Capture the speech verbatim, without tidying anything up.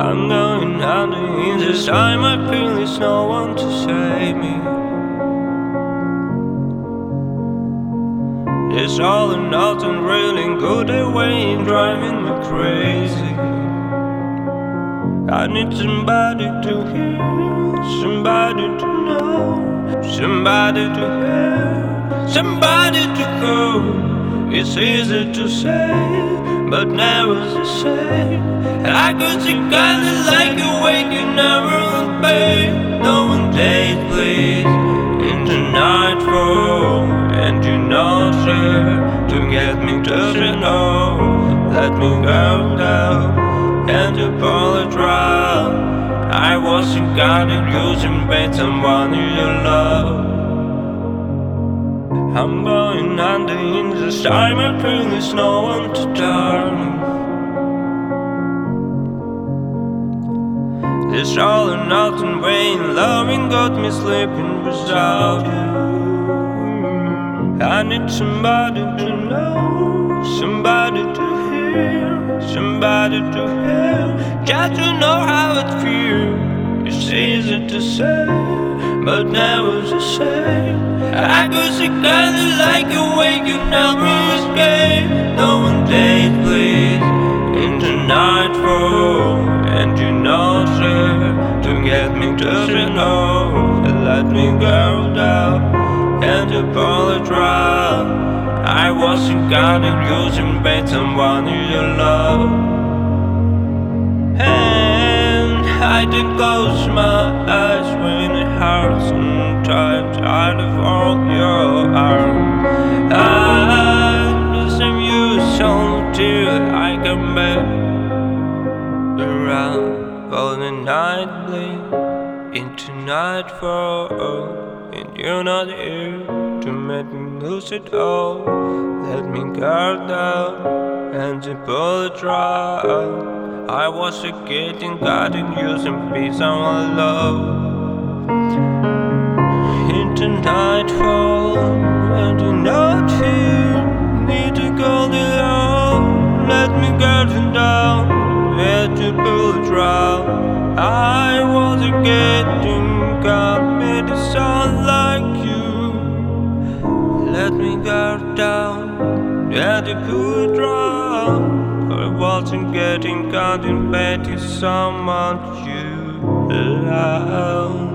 I'm going under in this time. I feel there's no one to save me. It's all or nothing, really good away, driving me crazy. I need somebody to hear, somebody to know, somebody to hear, somebody to go. It's easy to say, but never the same. I could see kinda like a waking never on pain. No one days please into nightfall, and you're not here to get me to say no. Let me go down and apologize. I wasn't guided using bait, someone you love. I'm going under in this time. I feel there's no one to turn. This all or nothing way in loving got me sleeping without you. I need somebody to know, somebody to hear, somebody to hear, just to know how it feels. It's easy to say, but never the same. I could see kinda like a wake you never escape. No one days please into nightfall, and you're not here to get me to say no. Let me go down and apologize. I wasn't guided using bait, someone you love. And I did close my eyes when it hurts sometimes. Tired of all your arms. I miss you so till I come back around. Golden night bleed into nightfall, and you're not here to make me lose it all. Let me guard down and apologize. I was a kid and got in using peace on my love. Into nightfall, and you're not here. Need to go alone. Let me guard you down, let you pull it round. I was a kid and got me to sound like you. Let me guard down, let you pull it round. I wasn't getting caught in bed to someone you love.